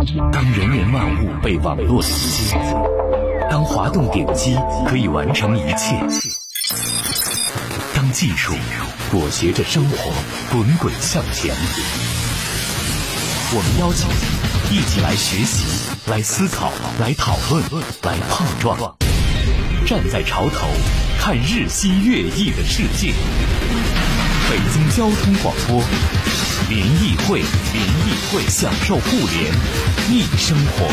当人人万物被网络连接，当滑动点击可以完成一切，当技术裹挟着生活滚滚向前，我们邀请你一起来学习，来思考，来讨论，来碰撞，站在潮头看日新月异的世界。北京交通广播联谊会，享受互联易生活。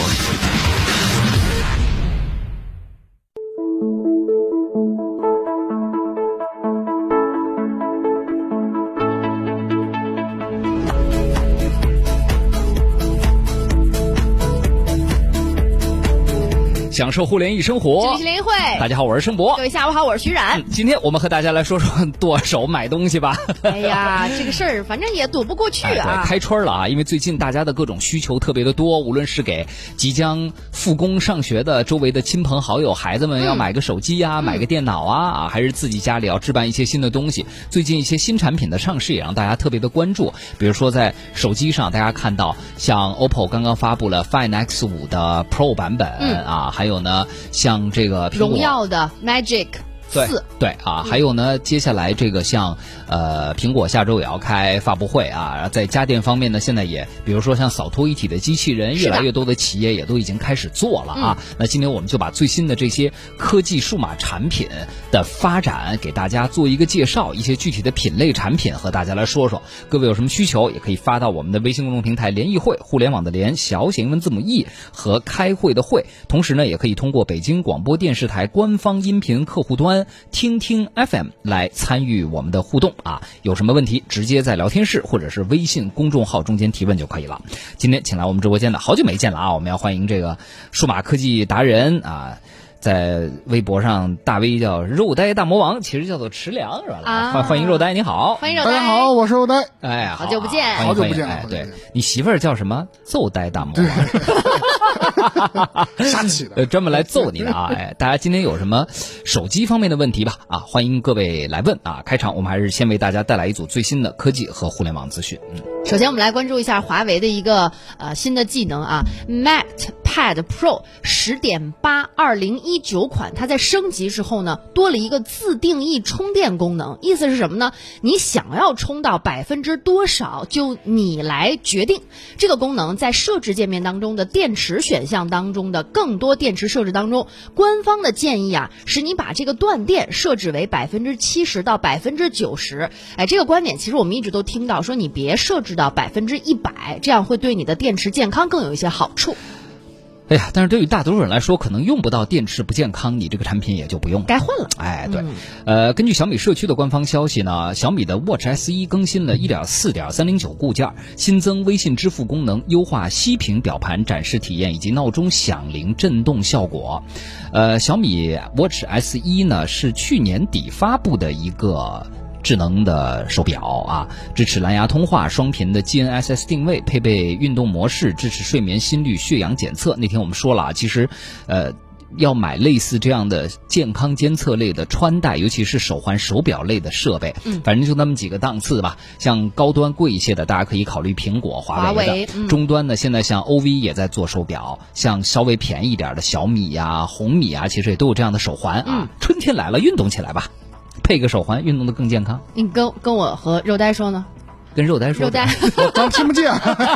享受互联易生活， 这里是联谊会。 大家好，我是盛博。 各位下午好，我是徐冉。 今天我们和大家来说说剁手买东西吧。 哎呀，这个事儿反正也躲不过去啊。 对，开春了啊，因为最近大家的各种需求特别的多，无论是给即将复工上学的周围的亲朋好友、孩子们要买个手机啊，买个电脑啊，还是自己家里要置办一些新的东西。最近一些新产品的上市也让大家特别的关注，比如说在手机上，大家看到像 OPPO 刚刚发布了 Find X5 的 Pro 版本啊，还有呢，像这个荣耀的 Magic 4， 对啊，还有呢，接下来这个像苹果下周也要开发布会啊，在家电方面呢，现在也比如说像扫拖一体的机器人，越来越多的企业也都已经开始做了啊。那今天我们就把最新的这些科技数码产品的发展给大家做一个介绍，一些具体的品类产品和大家来说说。各位有什么需求，也可以发到我们的微信公众平台联谊会，互联网的联，小写英文字母 E 和开会的会。同时呢，也可以通过北京广播电视台官方音频客户端听听 FM 来参与我们的互动啊，有什么问题直接在聊天室或者是微信公众号中间提问就可以了。今天请来我们直播间的好久没见了啊，我们要欢迎这个数码科技达人啊，在微博上大 V 叫肉呆大魔王，其实叫做池良是吧？啊，欢迎肉呆，你好， 欢迎肉呆， 大家好，我是肉呆。 哎， 好久不见， 好久不见。 哎，对，你媳妇儿叫什么？揍呆大魔王。 瞎起的， 专门来揍你的啊！哎，大家今天有什么手机方面的问题吧？啊，欢迎各位来问啊！开场我们还是先为大家带来一组最新的科技和互联网资讯。 首先我们来关注一下华为的一个新的技能啊 ，MatePad Pro 10.8 2019款，它在升级之后呢，多了一个自定义充电功能。意思是什么呢？你想要充到多少，就你来决定。这个功能在设置界面当中的电池选项当中的更多电池设置当中，官方的建议啊，是你把这个断电设置为70%到90%。哎，这个观点其实我们一直都听到，说你别设置到100%，这样会对你的电池健康更有一些好处。 哎呀，但是对于大多数人来说，可能用不到电池不健康，你这个产品也就不用该换了。 哎，对，根据小米社区的官方消息呢，小米的 Watch SE 更新了 1.4.309 固件，新增微信支付功能，优化息屏表盘展示体验以及闹钟响铃震动效果。小米 Watch SE 呢是去年底发布的一个智能的手表啊，支持蓝牙通话、双频的 GNSS 定位，配备运动模式，支持睡眠、心率、血氧检测。那天我们说了啊，其实要买类似这样的健康监测类的穿戴，尤其是手环、手表类的设备，反正就那么几个档次吧。像高端贵一些的，大家可以考虑苹果、华为的。中端呢，现在像 OV 也在做手表，像稍微便宜一点的小米呀、红米啊，其实也都有这样的手环啊。春天来了，运动起来吧。配个手环，运动的更健康。 你跟我和肉呆说呢？ 跟肉呆说， 肉呆我刚听不见。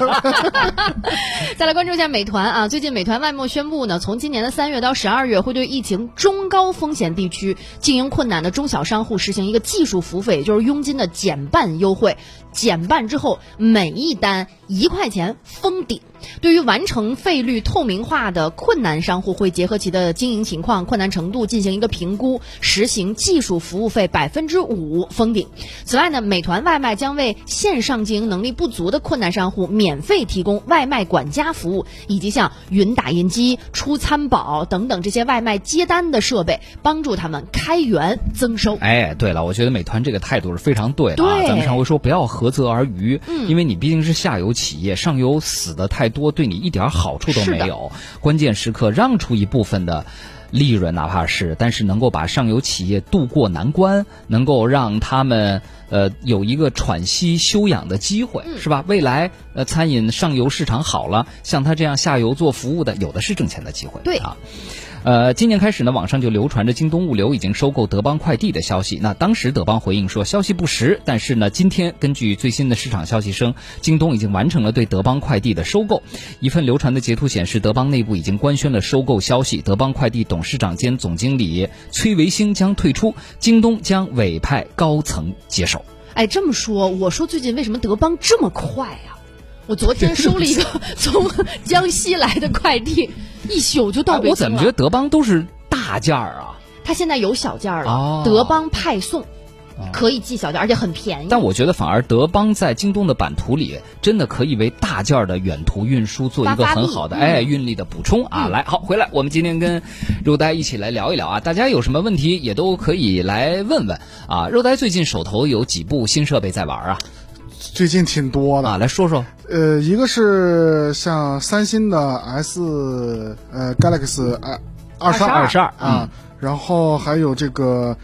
再来关注一下美团啊，最近美团外贸宣布呢，从今年的3月到12月，会对疫情中高风险地区经营困难的中小商户实行一个技术服务费，也就是佣金的减半优惠。减半之后，每一单1块钱封顶。对于完成费率透明化的困难商户，会结合其的经营情况、困难程度进行一个评估，实行技术服务费5%封顶。此外呢，美团外卖将为线上经营能力不足的困难商户免费提供外卖管家服务，以及像云打印机、出餐宝等等这些外卖接单的设备，帮助他们开源增收。 哎，对了，我觉得美团这个态度是非常对的啊。咱们上回说不要涸泽而渔，因为你毕竟是下游企业，上游死的太多，对你一点好处都没有。关键时刻让出一部分的利润，哪怕是，但是能够把上游企业渡过难关，能够让他们有一个喘息休养的机会，是吧？未来餐饮上游市场好了，像他这样下游做服务的，有的是挣钱的机会。 对啊。今年开始呢，网上就流传着京东物流已经收购德邦快递的消息。那当时德邦回应说消息不实，但是呢，今天根据最新的市场消息称，京东已经完成了对德邦快递的收购。一份流传的截图显示，德邦内部已经官宣了收购消息，德邦快递董事长兼总经理崔维兴将退出，京东将委派高层接手。 哎，这么说，我说最近为什么德邦这么快呀？我昨天收了一个从江西来的快递，一宿就到北京了。 我怎么觉得德邦都是大件儿啊？ 它现在有小件了， 哦， 德邦派送可以寄小件，而且很便宜。 但我觉得反而德邦在京东的版图里，真的可以为大件的远途运输做一个很好的运力的补充啊！来，好，回来，我们今天跟肉呆一起来聊一聊啊，大家有什么问题也都可以来问问啊。肉呆最近手头有几部新设备在玩啊？ 最近挺多的啊，来说说。 一个是像三星的Galaxy 22啊，然后还有这个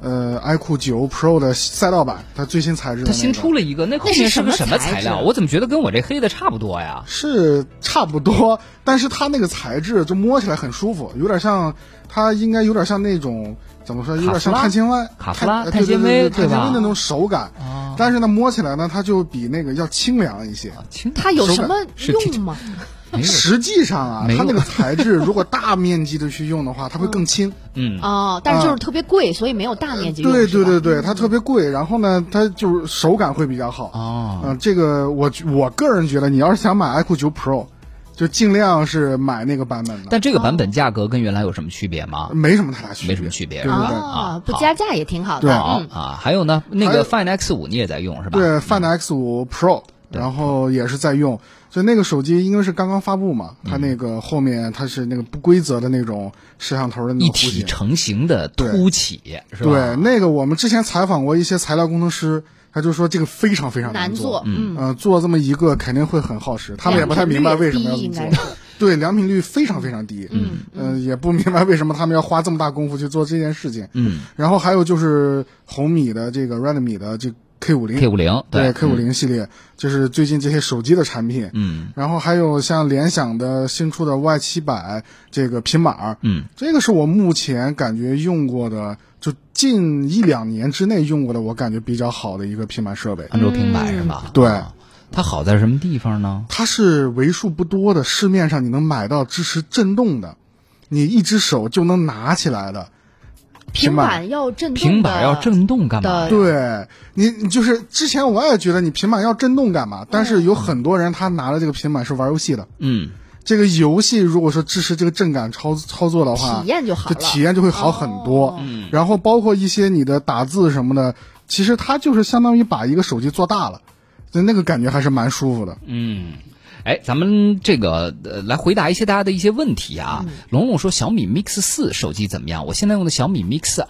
iQOO 9 Pro 的赛道版，它最新材质的、那个。它新出了一个，那后面是个什么材料？我怎么觉得跟我这黑的差不多呀？ 是差不多，但是它那个材质就摸起来很舒服，有点像，它应该有点像那种怎么说，有点像碳纤维、 卡夫拉、 碳纤维， 碳纤维的那种手感。但是呢，摸起来呢，它就比那个要清凉一些。 它有什么用吗？ 实际上啊，它那个材质如果大面积的去用的话，它会更轻。 但是就是特别贵，所以没有大面积用。 对，它特别贵，然后呢，它就是手感会比较好。这个我个人觉得，你要是想买 iQOO 9 Pro，就尽量是买那个版本的。 但这个版本价格跟原来有什么区别吗？ 没什么太大区别， 没什么区别。 对不加价也挺好的。 还有呢，那个 Find X5你也在用是吧？ 对 ，Find X5 Pro，然后也是在用。所以那个手机因为是刚刚发布嘛，它那个后面它是那个不规则的那种摄像头的那种一体成型的凸起，是吧？ 对，那个我们之前采访过一些材料工程师，他就说这个非常非常难做，做这么一个肯定会很耗时，他们也不太明白为什么要这么做。对，良品率非常非常低，也不明白为什么他们要花这么大功夫去做这件事情。然后还有就是红米的这个 Redmi 的这K50，对 K50 系列，就是最近这些手机的产品。然后还有像联想的新出的 Y700这个平板，这个是我目前感觉用过的，就近1-2年之内用过的，我感觉比较好的一个平板设备。 安卓平板是吧？ 对。 它好在什么地方呢？ 它是为数不多的市面上你能买到支持震动的，你一只手就能拿起来的平板要震动的。 平板要震动干嘛？ 对，你就是之前我也觉得你平板要震动干嘛？但是有很多人他拿了这个平板是玩游戏的。这个游戏如果说支持这个震感操作的话， 体验就好了， 体验就会好很多。然后包括一些你的打字什么的，其实它就是相当于把一个手机做大了。那个感觉还是蛮舒服的。 咱们这个来回答一些大家的一些问题啊。龙龙说小米 Mix 4手机怎么样？我现在用的小米 Mix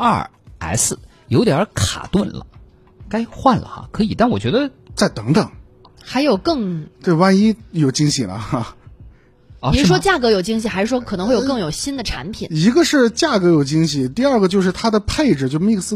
2S 有点卡顿了，该换了哈。可以，但我觉得再等等， 还有更对，万一有惊喜了哈。 您说价格有惊喜，还是说可能会有更有新的产品？ 一个是价格有惊喜，第二个就是它的配置，就 Mix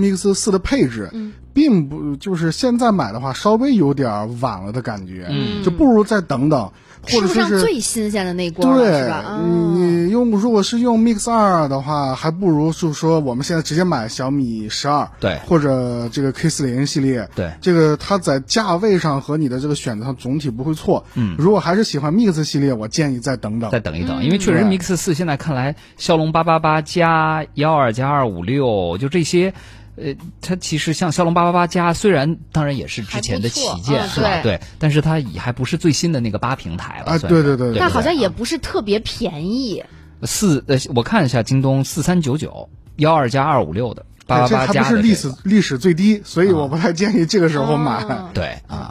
4的配置，并不就是现在买的话稍微有点晚了的感觉，就不如再等等，或者说是最新鲜的那锅， 对， 是吧？ 你如果是用 Mix 2的话，还不如就是说我们现在直接买小米12， 对， 或者这个 K40 系列， 对， 这个它在价位上和你的这个选择上总体不会错。如果还是喜欢 Mix 系列，我建议再等等， 再等一等，因为确实 Mix 4现在看来，骁龙888加12加256，就这些。它其实像骁龙888加，虽然当然也是之前的旗舰，是吧？对，但是它也还不是最新的那个8平台了。 对， 它好像也不是特别便宜。 我看一下京东4399 12加256的888加的， 这还不是历史最低，所以我不太建议这个时候买。 对啊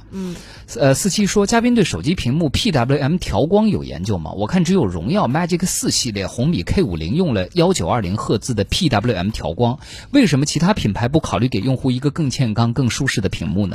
，47说嘉宾对手机屏幕 PWM 调光有研究吗？我看只有荣耀 Magic 4系列、红米 K50 用了1920赫兹的 PWM 调光，为什么其他品牌不考虑给用户一个更健康、更舒适的屏幕呢？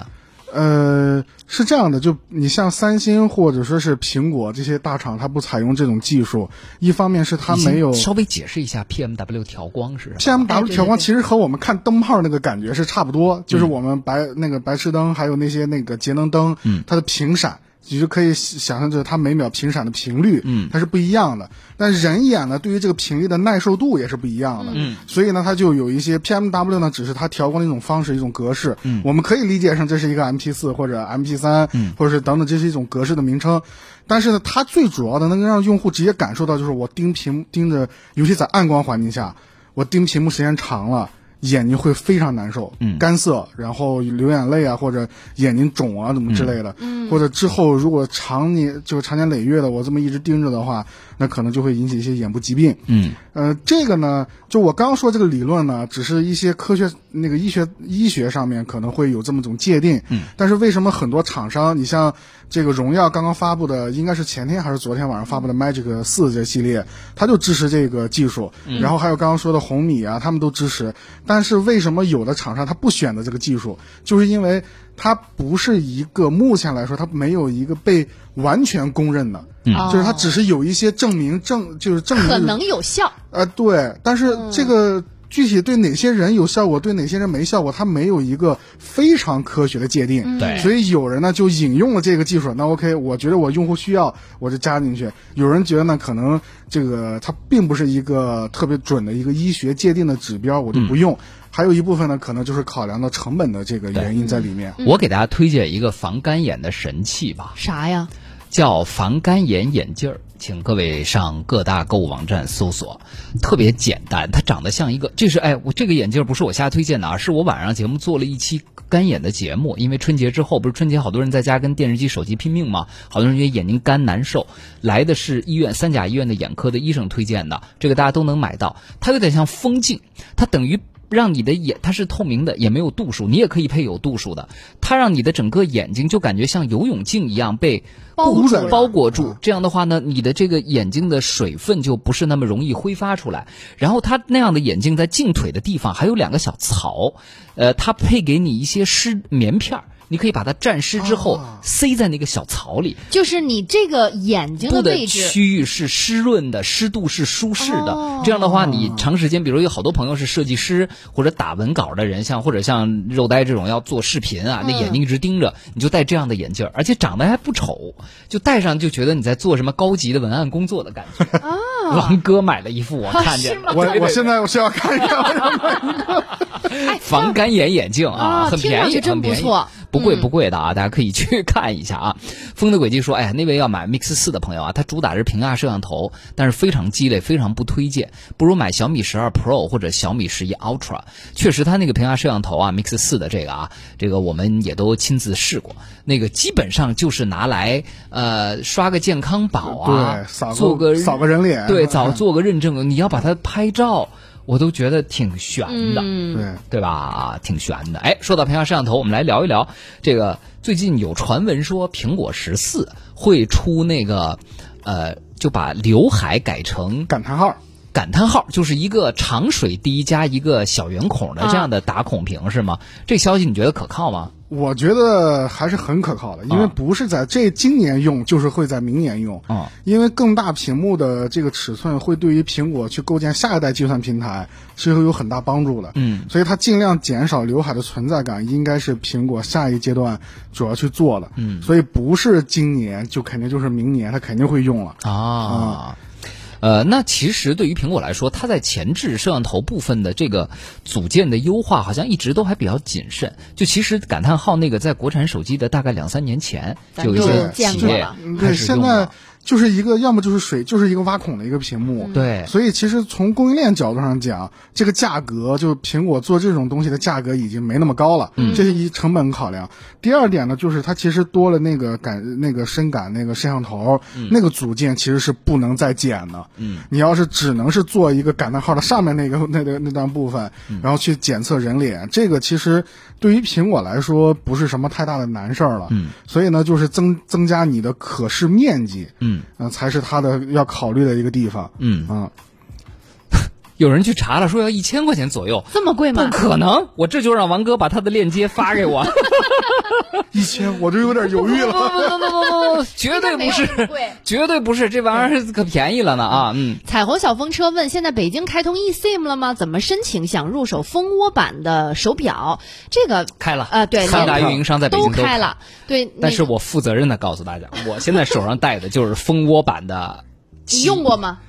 是这样的，就你像三星或者说是苹果这些大厂，它不采用这种技术，一方面是它没有。 稍微解释一下 PMW 调光是什么 ？PMW 调光其实和我们看灯泡那个感觉是差不多，就是我们白炽灯还有那些那个节能灯，它的频闪。你就可以想象着它每秒频闪的频率，它是不一样的。但人眼呢，对于这个频率的耐受度也是不一样的。所以呢，它就有一些 PMW 呢，只是它调光的一种方式、一种格式。我们可以理解成这是一个 MP4 或者 MP3，或者是等等，这是一种格式的名称。但是呢，它最主要的能让用户直接感受到，就是我盯着，尤其在暗光环境下，我盯屏幕时间长了。眼睛会非常难受，干涩，然后流眼泪啊，或者眼睛肿啊，怎么之类的，或者之后如果长年累月的我这么一直盯着的话，那可能就会引起一些眼部疾病。这个呢，就我刚刚说这个理论呢，只是一些科学那个医学上面可能会有这么种界定，但是为什么很多厂商，你像这个荣耀刚刚发布的，应该是前天还是昨天晚上发布的 Magic 4这系列，它就支持这个技术，然后还有刚刚说的红米啊，他们都支持。但是为什么有的厂商他不选择这个技术，就是因为它不是一个目前来说它没有一个被完全公认的，就是它只是有一些证明可能有效， 对，但是这个具体对哪些人有效果，对哪些人没效果，它没有一个非常科学的界定。 对， 所以有人呢就引用了这个技术，那 OK， 我觉得我用户需要，我就加进去。有人觉得呢，可能这个它并不是一个特别准的一个医学界定的指标，我就不用。还有一部分呢，可能就是考量到成本的这个原因在里面。 我给大家推荐一个防干眼的神器吧。 啥呀？ 叫防干眼眼镜儿，请各位上各大购物网站搜索，特别简单，它长得像一个，我这个眼镜不是我瞎推荐的啊，是我晚上节目做了一期干眼的节目，因为春节之后不是春节好多人在家跟电视机手机拼命嘛，好多人觉得眼睛干难受，来的是3甲医院的眼科的医生推荐的，这个大家都能买到，它有点像风镜，它等于让你的眼，它是透明的，也没有度数，你也可以配有度数的，它让你的整个眼睛就感觉像游泳镜一样被包裹住，这样的话呢，你的这个眼睛的水分就不是那么容易挥发出来。然后它那样的眼镜在镜腿的地方还有2个小槽，它配给你一些湿棉片，你可以把它蘸湿之后塞在那个小槽里， 就是你这个眼睛的位置区域是湿润的，湿度是舒适的。这样的话，你长时间，比如有好多朋友是设计师或者打文稿的人，或者像肉呆这种要做视频啊，那眼睛一直盯着，你就戴这样的眼镜，而且长得还不丑，就戴上就觉得你在做什么高级的文案工作的感觉。王哥买了一副，我看见了， 我现在我是要看一下， 防干眼眼镜啊，很便宜， 真不错。 不贵的啊，大家可以去看一下啊。风的轨迹说，那位要买 Mix 4的朋友啊，它主打是屏下摄像头，但是非常鸡肋，非常不推荐，不如买小米12 Pro 或者小米11 Ultra。确实它那个屏下摄像头啊 Mix 4的这个我们也都亲自试过，那个基本上就是拿来刷个健康宝啊， 对， 扫个人脸， 对，做个认证，你要把它拍照我都觉得挺悬的，对吧？挺悬的。说到屏下摄像头，我们来聊一聊这个。最近有传闻说，苹果14会出那个，就把刘海改成感叹号。 感叹号就是一个长水滴加一个小圆孔的这样的打孔屏，是吗？这消息你觉得可靠吗？ 我觉得还是很可靠的，因为不是在今年用，就是会在明年用。因为更大屏幕的这个尺寸会对于苹果去构建下一代计算平台是会有很大帮助的。所以它尽量减少刘海的存在感，应该是苹果下一阶段主要去做的。所以不是今年就肯定就是明年，它肯定会用了啊。 那其实对于苹果来说，它在前置摄像头部分的这个组件的优化好像一直都还比较谨慎。就其实感叹号那个在国产手机的大概2-3年前就有一些企业开始用了。现在就是一个要么就是水，就是一个挖孔的一个屏幕。 对， 所以其实从供应链角度上讲，这个价格就苹果做这种东西的价格已经没那么高了。这是一成本考量。第二点呢，就是它其实多了那个深感那个摄像头，那个组件其实是不能再减的。你要是只能是做一个感叹号的上面那段部分，然后去检测人脸，这个其实对于苹果来说不是什么太大的难事儿了。所以呢，就是增加你的可视面积。才是它的要考虑的一个地方。 有人去查了，说要1000块钱左右， 这么贵吗？ 不可能，我这就让王哥把他的链接发给我。 1000我就有点犹豫了。 不，绝对不是，绝对不是，这玩意儿可便宜了呢啊！ 彩虹小风车问：现在北京开通 eSIM 了吗？怎么申请？想入手蜂窝版的手表？这个开了对， 三大运营商在北京都开了。对， 但是我负责任的告诉大家，我现在手上戴的就是蜂窝版的。 你用过吗？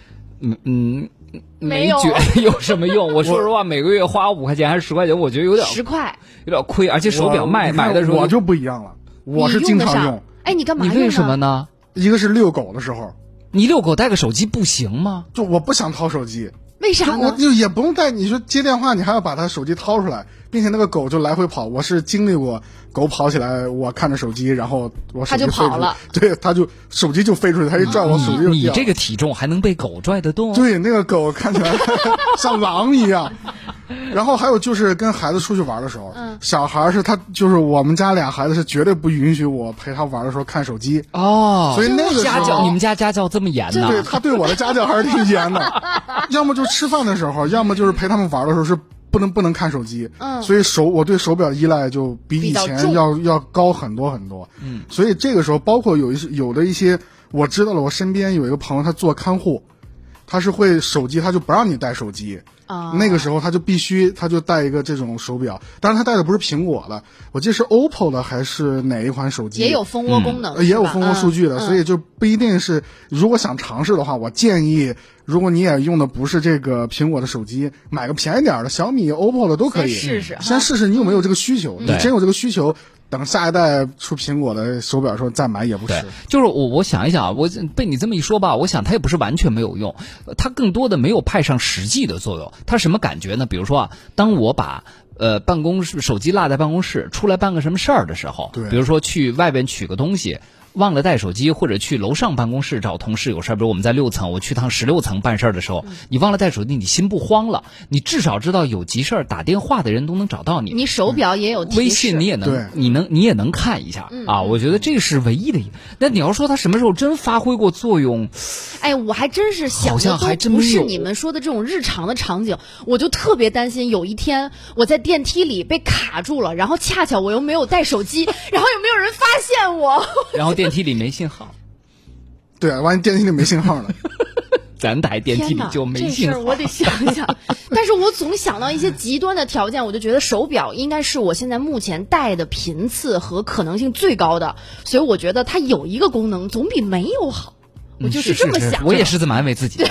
没觉得有什么用。我说实话，每个月花5块钱还是10块钱，我觉得有点 10块， 有点亏。而且手表买的时候我就不一样了，我是经常用。 哎，你干嘛用呢？ 你为什么呢？ 一个是遛狗的时候， 你遛狗带个手机不行吗？ 就我不想掏手机。 为啥呢？ 我就也不用带，你说接电话，你还要把他手机掏出来，并且那个狗就来回跑。我是经历过狗跑起来，我看着手机，然后我手机它就跑了， 对，它就手机就飞出去，它一拽我手机就掉。 你这个体重还能被狗拽得动？ 对，那个狗看起来像狼一样。然后还有就是跟孩子出去玩的时候，小孩是他就是我们家俩孩子是绝对不允许我陪他玩的时候看手机哦， 所以那个家教，你们家家教这么严呢？ 对，他对我的家教还是挺严的。要么就吃饭的时候，要么就是陪他们玩的时候是不能看手机。所以我对手表依赖就比以前要高很多很多。所以这个时候包括有的一些我知道了，我身边有一个朋友他做看护，他是会手机他就不让你带手机。那个时候他就带一个这种手表，当然他带的不是苹果的，我记得是 OPPO 的还是哪一款手机， 也有蜂窝功能， 也有蜂窝数据的，所以就不一定是。如果想尝试的话，我建议，如果你也用的不是这个苹果的手机，买个便宜点的小米、OPPO 的都可以，先试试你有没有这个需求。你真有这个需求，等下一代出苹果的手表的时候再买也不迟。 就是我想一想，我被你这么一说吧，我想它也不是完全没有用，它更多的没有派上实际的作用。它什么感觉呢？比如说啊，当我把办公室手机落在办公室，出来办个什么事儿的时候，比如说去外边取个东西，忘了带手机，或者去楼上办公室找同事有事儿，比如我们在6层，我去趟16层办事儿的时候，你忘了带手机，你心不慌了，你至少知道有急事儿打电话的人都能找到你。 你手表也有提示， 微信你也能，你也能看一下啊。我觉得这是唯一的。那你要说它什么时候真发挥过作用？ 哎，我还真是想的都不是你们说的这种日常的场景，我就特别担心有一天我在电梯里被卡住了，然后恰巧我又没有带手机，然后有没有人发现我？ 然后电梯里没信号。 对啊，万一电梯里没信号了。 咱台电梯里就没信号。 这事儿我得想一想。但是我总想到一些极端的条件，我就觉得手表应该是我现在目前戴的频次和可能性最高的，所以我觉得它有一个功能总比没有好。我就是这么想， 我也是这么安慰自己的。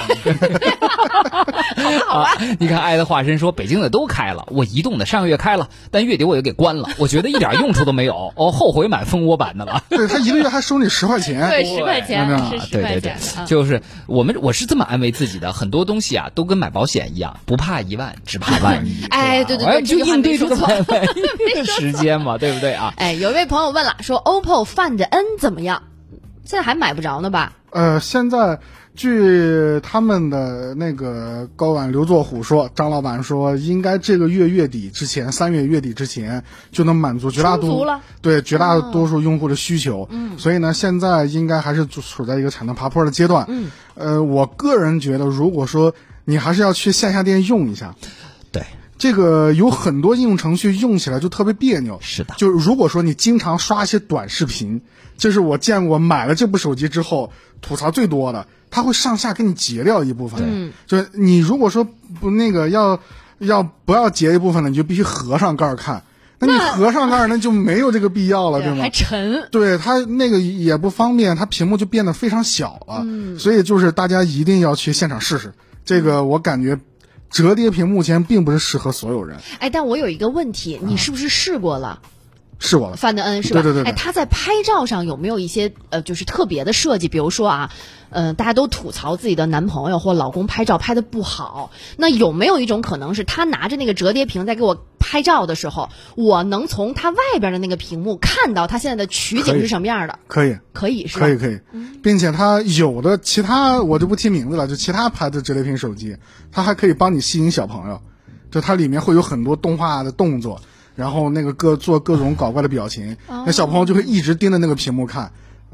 好吧， 你看爱的化身说北京的都开了，我移动的上个月开了，但月底我也给关了，我觉得一点用处都没有，后悔买蜂窝版的了。 对，他一个月还收你10块钱， 对，10块钱是10块钱。 对，就是我是这么安慰自己的，很多东西啊都跟买保险一样，不怕1万，只怕万一。 哎，对， 就应对这个万一的时间嘛，对不对啊？ 哎，有一位朋友问了，说 OPPO Find N 怎么样？现在还买不着呢吧？ 现在据他们的那个高管刘作虎说，张老板说应该这个月月底之前，3月月底之前就能满足绝大多数用户的需求。所以呢，现在应该还是处在一个产能爬坡的阶段。我个人觉得，如果说你还是要去线下店用一下， 对。 这个有很多应用程序用起来就特别别扭。 是的， 就如果说你经常刷一些短视频，这是我见过买了这部手机之后吐槽最多的，它会上下给你截掉一部分。就是你如果说不那个不要截一部分的，你就必须合上盖看。那你合上盖那就没有这个必要了，对吗？ 还沉。 对，它那个也不方便，它屏幕就变得非常小了。所以就是大家一定要去现场试试。这个我感觉折叠屏目前并不是适合所有人。 哎，但我有一个问题，你是不是试过了？ 试过了。 Find N 是吧？ 对。 哎，它在拍照上有没有一些就是特别的设计？比如说啊，大家都吐槽自己的男朋友或老公拍照拍得不好，那有没有一种可能是他拿着那个折叠屏在给我拍照的时候，我能从他外边的那个屏幕看到他现在的取景是什么样的？可以是吧？ 可以，并且它有的其他我就不提名字了，就其他牌子折叠屏手机，它还可以帮你吸引小朋友，就它里面会有很多动画的动作，然后那个做各种搞怪的表情，那小朋友就会一直盯着那个屏幕看。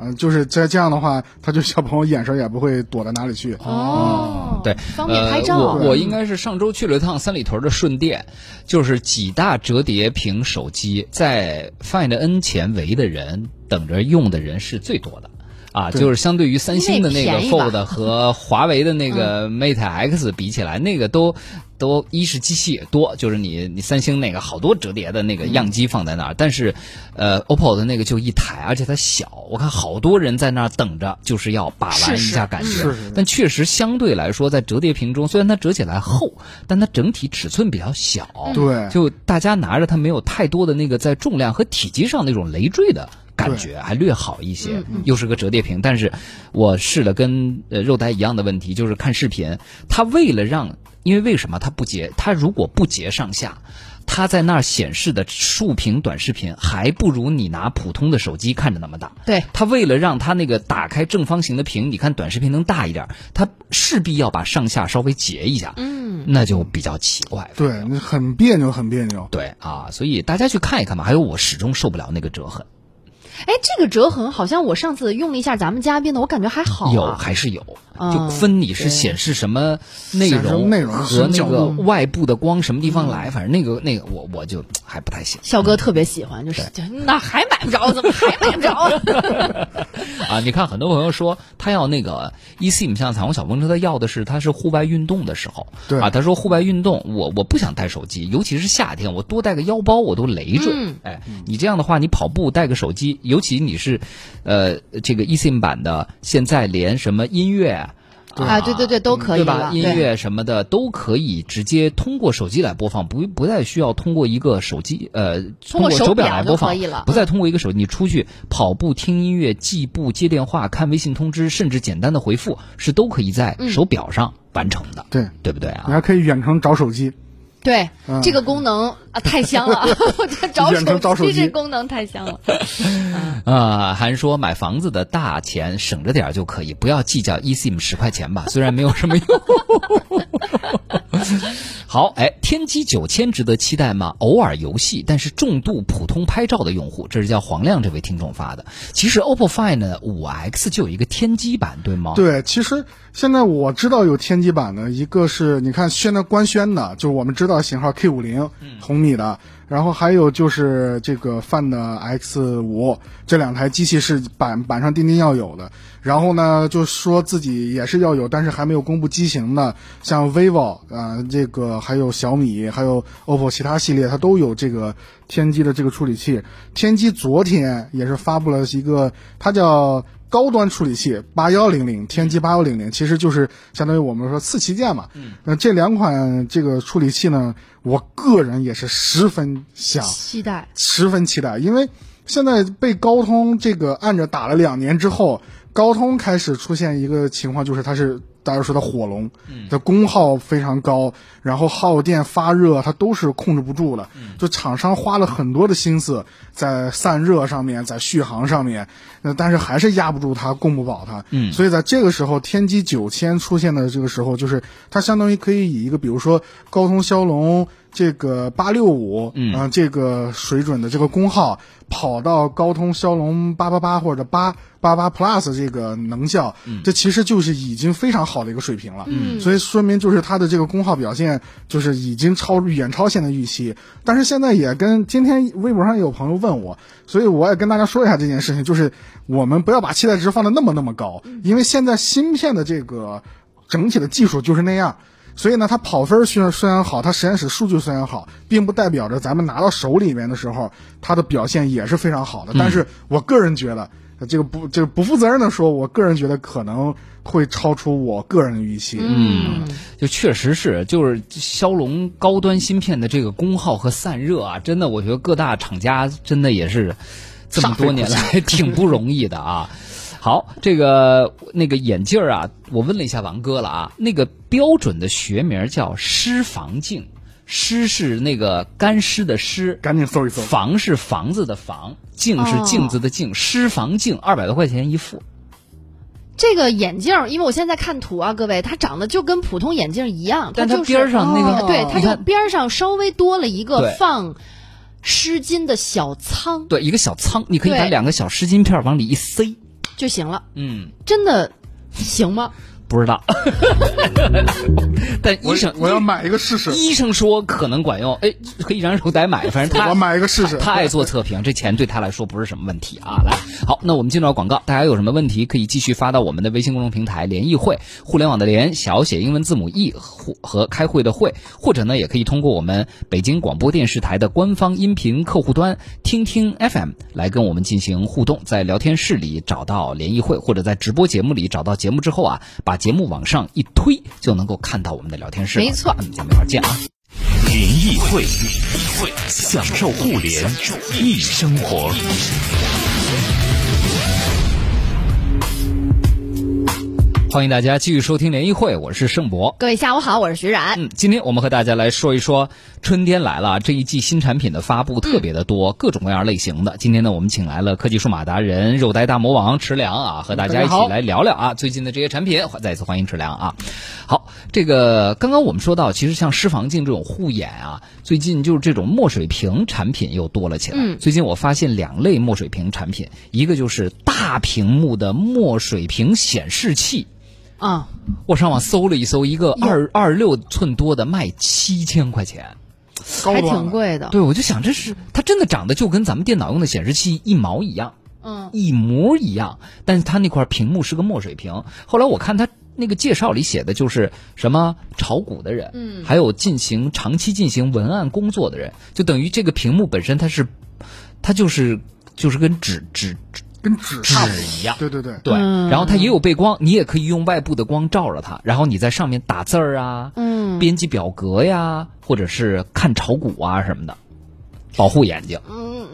就是这样的话，他就小朋友眼神也不会躲到哪里去。 对， 方便拍照。 我应该是上周去了一趟三里屯的顺电，就是几大折叠屏手机，在 Find N 前围的人等着用的人是最多的。就是相对于三星的那个 Fold 和华为的那个 Mate X 比起来，那个都一是机器也多，就是你三星那个好多折叠的那个样机放在那儿，但是OPPO 的那个就一台，而且它小，我看好多人在那儿等着，就是要把玩一下感觉。但确实相对来说，在折叠屏中，虽然它折起来厚，但它整体尺寸比较小， 对， 就大家拿着它没有太多的那个在重量和体积上那种累赘的感觉，还略好一些，又是个折叠屏。但是我试了跟肉呆一样的问题，就是看视频，它因为什么它如果不截上下，它在那儿显示的竖屏短视频还不如你拿普通的手机看着那么大。 对， 它为了让它那个打开正方形的屏，你看短视频能大一点，它势必要把上下稍微截一下，那就比较奇怪。 对，很别扭，很别扭。 对所以大家去看一看吧。还有我始终受不了那个折痕。 这个折痕好像我上次用了一下咱们嘉宾的，我感觉还好还是有，就分你是显示什么内容和那个外部的光什么地方来，反正那个我就还不太行。 肖哥特别喜欢，就是那还买不着，怎么还买不着？ 你看很多朋友说他要那个 eSIM， 像彩虹小风车，他要的是他是户外运动的时候， 对他说户外运动我不想带手机，尤其是夏天，我多带个腰包我都累赘。你这样的话，你跑步带个手机，尤其你是这个 eSIM 版的，现在连什么音乐对都可以， 对吧？音乐什么的都可以直接通过手机来播放，不再需要通过一个手机通过手表来播放，不再通过一个手机。你出去跑步、听音乐、记步、接电话、看微信通知，甚至简单的回复，是都可以在手表上完成的。对不对啊？ 你还可以远程找手机。 对，这个功能太香了，我觉得找手机这功能太香了。 还说买房子的大钱省着点就可以，不要计较 eSIM 10块钱吧，虽然没有什么用。好，天玑9000值得期待吗？偶尔游戏，但是重度普通拍照的用户，这是叫黄亮这位听众发的。其实 OPPO Find 5X 就有一个天玑版，对吗？ 对，其实现在我知道有天玑版的，一个是你看现在官宣的，就我们知道型号 K50红米的，然后还有就是这个 Find X5，这两台机器是板上钉钉要有的。然后呢，就说自己也是要有，但是还没有公布机型的，像 vivo 这个还有小米，还有 OPPO 其他系列，它都有这个天玑的这个处理器。天玑昨天也是发布了一个，它叫高端处理器8100，天玑8100，其实就是相当于我们说次旗舰嘛。那这两款这个处理器呢，我个人也是十分期待，因为现在被高通这个按着打了2年之后，高通开始出现一个情况，就是它是大家说的火龙，的功耗非常高，然后耗电发热它都是控制不住的，就厂商花了很多的心思在散热上面，在续航上面，但是还是压不住它，供不饱它。所以在这个时候，天玑9000出现的这个时候，就是它相当于可以以一个比如说高通骁龙这个865这个水准的这个功耗跑到高通骁龙888或者888 Plus 这个能效，这其实就是已经非常好的一个水平了。所以说明就是它的这个功耗表现就是已经远超现在预期。但是现在也跟今天微博上有朋友问我，所以我也跟大家说一下这件事情，就是我们不要把期待值放得那么高，因为现在芯片的这个整体的技术就是那样。所以呢，它跑分虽然好，它实验室数据虽然好，并不代表着咱们拿到手里面的时候，它的表现也是非常好的。但是我个人觉得，这个不负责任的说，我个人觉得可能会超出我个人的预期。 就确实是，就是骁龙高端芯片的这个功耗和散热啊，真的，我觉得各大厂家真的也是这么多年来挺不容易的啊。好，那个眼镜啊，我问了一下王哥了啊，那个标准的学名叫湿防镜，湿是那个干湿的湿， 赶紧搜一搜， 防是房子的房，镜是镜子的镜，湿防镜200多块钱一副。 这个眼镜，因为我现在看图啊，各位，它长得就跟普通眼镜一样， 但它边上那个， 对，它就边上稍微多了一个放湿巾的小仓， 对，一个小仓，你可以把2个小湿巾片往里一塞。 就行了。真的行吗？ 不知道，但医生我要买一个试试。 医生说可能管用，可以让肉呆买，反正我买一个试试。 他爱做测评，这钱对他来说不是什么问题啊。来，好，那我们进入到广告，大家有什么问题可以继续发到我们的微信公众平台联谊会，互联网的联，小写英文字母 E 和开会的会，或者呢也可以通过我们北京广播电视台的官方音频客户端听听 FM 来跟我们进行互动，在聊天室里找到联谊会，或者在直播节目里找到节目之后啊，把节目往上一推就能够看到我们的聊天室。 没错， 咱们一会儿见啊！ 联谊会，享受互联易生活。 欢迎大家继续收听联谊会，我是盛博。 各位下午好，我是徐冉。 今天我们和大家来说一说春天来了，这一季新产品的发布特别的多，各种各样类型的。今天呢，我们请来了科技数码达人肉呆大魔王池良啊，和大家一起来聊聊啊最近的这些产品。再一次欢迎池良啊。好，这个刚刚我们说到，其实像湿防镜这种护眼啊，最近就是这种墨水屏产品又多了起来。最近我发现2类墨水屏产品，一个就是大屏幕的墨水屏显示器。我上网搜了一搜，一个26寸多的卖7000块钱， 还挺贵的。 对，我就想它真的长得就跟咱们电脑用的显示器一毛一样，一模一样，但是它那块屏幕是个墨水屏。后来我看它那个介绍里写的就是什么炒股的人，还有长期进行文案工作的人，就等于这个屏幕本身它就是跟纸一样， 对， 然后它也有背光，你也可以用外部的光照着它，然后你在上面打字儿啊，编辑表格呀，或者是看炒股啊什么的，保护眼睛。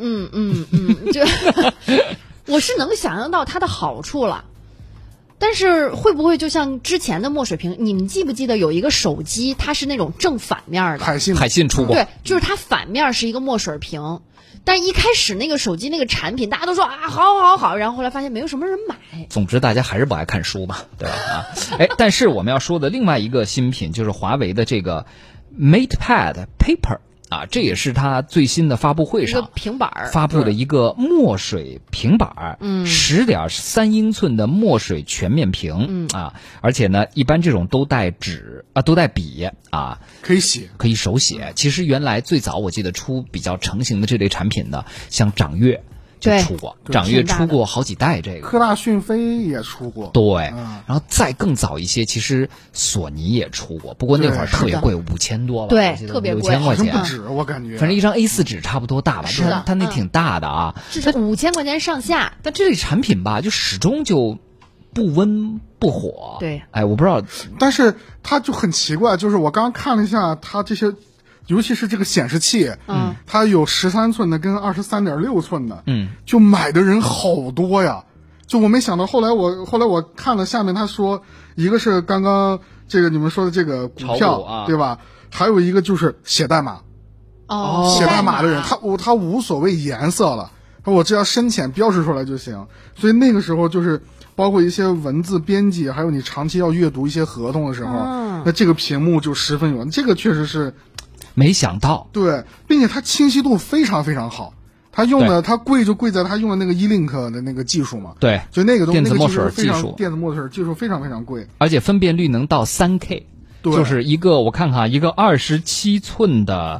我是能想象到它的好处了。但是会不会就像之前的墨水屏，你们记不记得有一个手机，它是那种正反面的？ 海信出过。 对，就是它反面是一个墨水屏，但一开始那个手机那个产品，大家都说啊好，然后后来发现没有什么人买。 总之大家还是不爱看书嘛，对吧？但是我们要说的另外一个新品就是华为的这个 MatePad Paper。这也是它最新的发布会上平板发布的一个墨水平板，10.3英寸的墨水全面屏而且呢，一般这种都带笔可以写， 可以手写。其实原来最早我记得出比较成型的这类产品的，像掌阅就出过，掌阅出过好几代这个， 科大讯飞也出过， 对，然后再更早一些，其实索尼也出过，不过那会儿特别贵，5000多吧， 对，特别贵， 5000块钱， 不止，我感觉， 反正一张 A4 纸差不多大吧， 是的， 它那挺大的啊， 是5000块钱上下。 但这类产品吧，就始终就不温不火， 对， 我不知道， 但是它就很奇怪，就是我刚刚看了一下它这些。尤其是这个显示器，它有13寸的跟23.6寸的，就买的人好多呀。就我没想到，后来我看了下面他说，一个是刚刚这个你们说的这个股票，对吧？还有一个就是写代码，写代码的人，他无所谓颜色了，我只要深浅标识出来就行。所以那个时候就是包括一些文字编辑，还有你长期要阅读一些合同的时候，那这个屏幕就十分有用，这个确实是。 没想到， 对，并且它清晰度非常非常好。它用的它贵就贵在它用的那个 E-Link 的那个技术嘛。 对， 就那个东西， 电子墨水技术， 电子墨水技术非常非常贵， 而且分辨率能到 3K， 就是一个我看看一个27寸的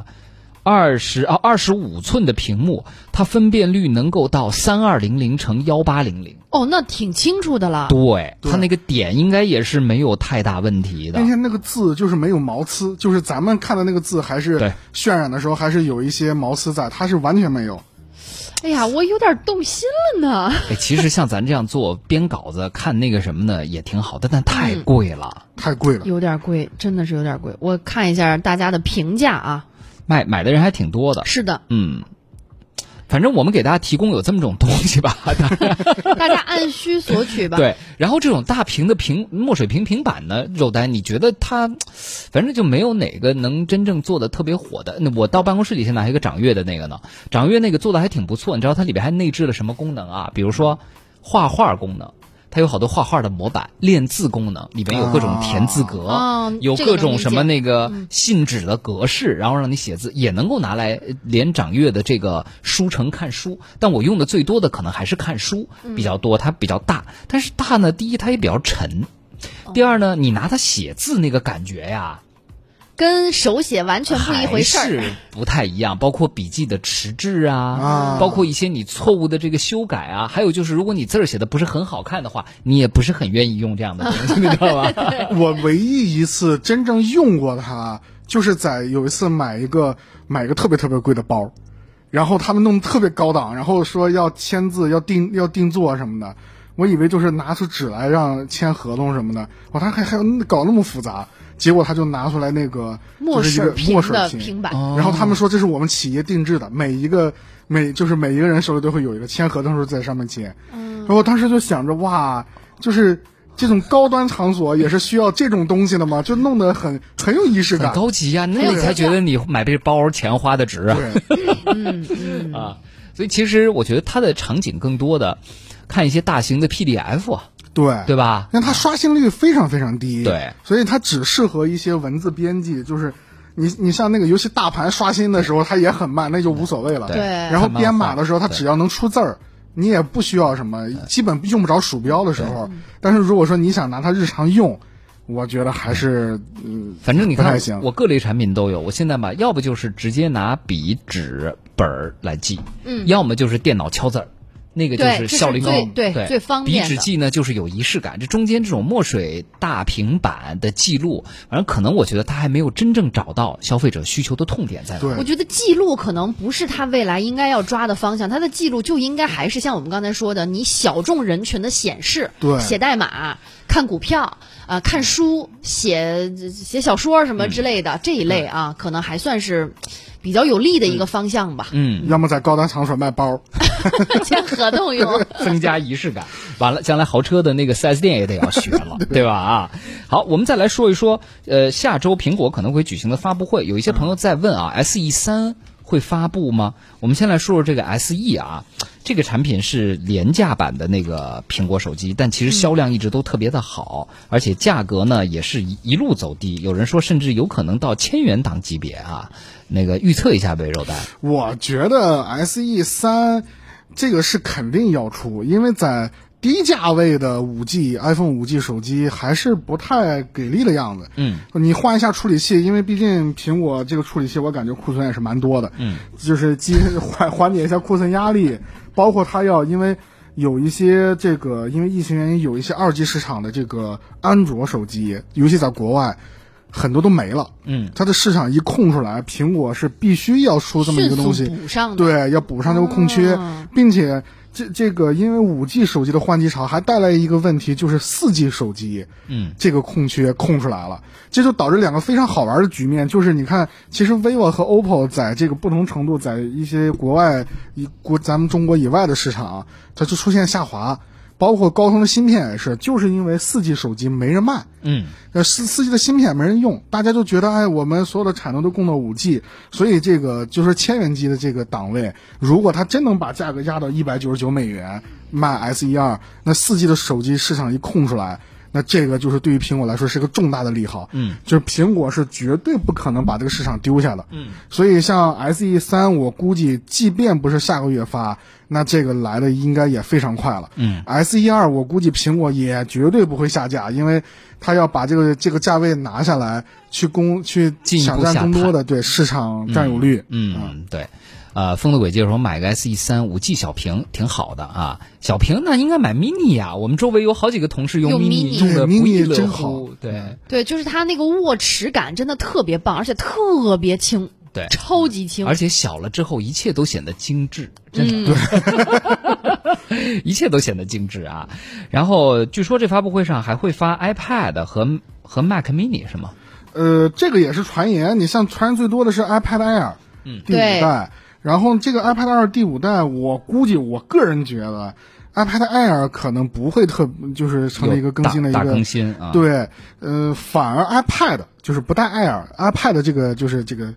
25寸的屏幕，它分辨率能够到3200×1800。 那挺清楚的了。 对，它那个点应该也是没有太大问题的。 并且那个字就是没有毛刺，就是咱们看的那个字还是渲染的时候还是有一些毛刺在，它是完全没有。 哎呀，我有点动心了呢。 其实像咱这样做编稿子看那个什么的也挺好的，但太贵了， 太贵了， 有点贵，真的是有点贵。我看一下大家的评价啊， 买的人还挺多的。 是的， 反正我们给大家提供有这么种东西吧， 大家按需索取吧。 对，然后这种大屏的墨水屏平板呢，肉呆，你觉得它，反正就没有哪个能真正做的特别火的。那我到办公室里现在还有一个掌阅的那个呢，掌阅那个做的还挺不错。你知道它里边还内置了什么功能啊？比如说画画功能。 它有好多画画的模板，练字功能，里边有各种填字格，有各种什么那个信纸的格式，然后让你写字，也能够拿来连掌阅的这个书城看书。但我用的最多的可能还是看书比较多，它比较大，但是大呢，第一它也比较沉，第二呢，你拿它写字那个感觉呀， 跟手写完全不一回事儿， 还是不太一样。包括笔记的迟滞包括一些你错误的这个修改啊，还有就是如果你字儿写的不是很好看的话，你也不是很愿意用这样的东西，你知道吗？ 我唯一一次真正用过它，就是在有一次买一个特别特别贵的包，然后他们弄得特别高档，然后说要签字、要定做什么的。我以为就是拿出纸来让签合同什么的，他还搞那么复杂。结果他就拿出来那个就是一个墨水屏平板， 然后他们说这是我们企业定制的，每一个人手里都会有一个，签合同时候在上面签。然后我当时就想着，哇，就是这种高端场所也是需要这种东西的吗？就弄得很有仪式感， 很高级啊，那你才觉得你买这包钱花的值啊。 对， 所以其实我觉得它的场景更多的看一些大型的 PDF 啊。对吧？ 因为它刷新率非常非常低， 对， 所以它只适合一些文字编辑。就是你像那个游戏大盘刷新的时候，它也很慢，那就无所谓了。 对。 然后编码的时候，它只要能出字儿，你也不需要什么，基本用不着鼠标的时候。但是如果说你想拿它日常用，我觉得还是反正你看，我各类产品都有。我现在吧，要不就是直接拿笔、纸、本来记，要么就是电脑敲字儿。那个就是效率高， 对最方便的。 笔纸记呢，就是有仪式感。这中间这种墨水大平板的记录，反正可能我觉得它还没有真正找到消费者需求的痛点在哪。 我觉得记录可能不是它未来应该要抓的方向，它的记录就应该还是像我们刚才说的，你小众人群的显示，写代码、看股票看书、写小说什么之类的这一类啊，可能还算是比较有利的一个方向吧。 要么在高端场所卖包， 签合同用， 增加仪式感。完了，将来豪车的那个 4S 店也得要学了，对吧？好，我们再来说一说，下周苹果可能会举行的发布会，有一些朋友在问SE3会发布吗？我们先来说说这个 SE 啊。这个产品是廉价版的那个苹果手机，但其实销量一直都特别的好，而且价格呢也是一路走低，有人说甚至有可能到1000元档级别啊。那个预测一下呗，肉蛋。 我觉得 SE3这个是肯定要出，因为在低价位的iPhone 5G 手机还是不太给力的样子。你换一下处理器，因为毕竟苹果这个处理器我感觉库存也是蛮多的。就是缓解一下库存压力，包括它要因为有一些因为疫情原因有一些2G 市场的这个安卓手机，尤其在国外很多都没了。它的市场一空出来，苹果是必须要出这么一个东西， 迅速补上的。 对，要补上这个空缺，并且这个因为5G 手机的换机潮还带来一个问题，就是 4G 手机这个空缺空出来了，这就导致两个非常好玩的局面，就是你看其实 vivo 和 OPPO 在这个不同程度在一些国外咱们中国以外的市场它就出现下滑，包括高通的芯片也是，就是因为 4G 手机没人卖，4G 的芯片没人用，大家就觉得我们所有的产能都供到 5G， 所以这个就是1000元机的这个档位，如果它真能把价格压到199美元卖 SE2， 那 4G 的手机市场一空出来，那这个就是对于苹果来说是个重大的利好。就是苹果是绝对不可能把这个市场丢下的。所以像 SE3 我估计即便不是下个月发，那这个来的应该也非常快了。SE2 我估计苹果也绝对不会下架，因为他要把这个价位拿下来，去抢占更多的对市场占有率。 对。风的轨迹说买个 SE3 5G 小屏挺好的啊，小屏那应该买 mini 呀。我们周围有好几个同事用 mini 用的不亦乐乎。 对，就是它那个握持感真的特别棒，而且特别轻。 对， 超级轻， 而且小了之后一切都显得精致，真的。对，一切都显得精致啊。然后据说这发布会上还会发 iPad 和 Mac mini 是吗？ 这个也是传言，你像传言最多的是 iPad Air 第5代。然后这个 iPad Air 第5代，我估计我个人觉得 iPad Air 可能不会就是成为一个更新的一个大更新啊。 对，反而 iPad 就是不带 Air，iPad 这个就是这个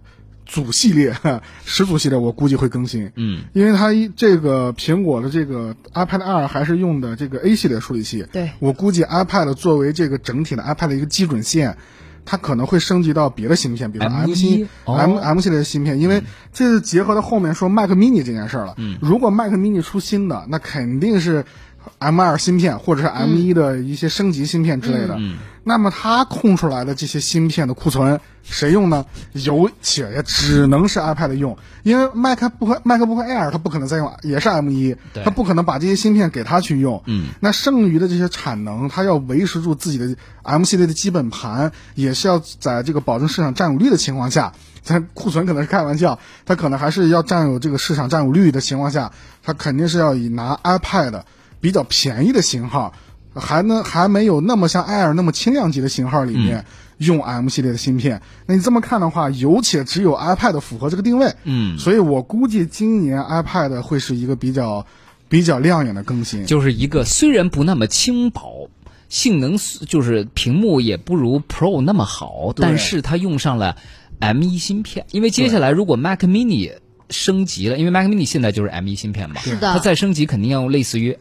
主系列10组系列我估计会更新，因为它这个苹果的这个 iPad Air 还是用的这个 A 系列处理器， 对， 我估计 iPad 作为这个整体的 iPad 的一个基准线，它可能会升级到别的芯片，比如说 M 系列的芯片，因为这是结合到后面说 Mac Mini 这件事了。如果 Mac Mini 出新的，那肯定是 M2 芯片或者是 M1 的一些升级芯片之类的。那么它空出来的这些芯片的库存谁用呢？有且也只能是 iPad 用，因为 MacBook Air 它不可能再用，也是 M1，它不可能把这些芯片给它去用。那剩余的这些产能，它要维持住自己的 M 系列的基本盘，也是要在这个保证市场占有率的情况下，它库存可能是开玩笑，它可能还是要占有这个市场占有率的情况下，它肯定是要以拿 iPad 比较便宜的型号，还没有那么像 Air 那么轻量级的型号里面用 M 系列的芯片。那你这么看的话，有且只有 iPad 符合这个定位。所以我估计今年 iPad 会是一个比较亮眼的更新， 就是一个虽然不那么轻薄，性能就是屏幕也不如 Pro 那么好，但是它用上了 M1 芯片。因为接下来如果 Mac Mini 升级了，因为 Mac Mini 现在就是 M1 芯片嘛， 是的， 它再升级肯定要用类似于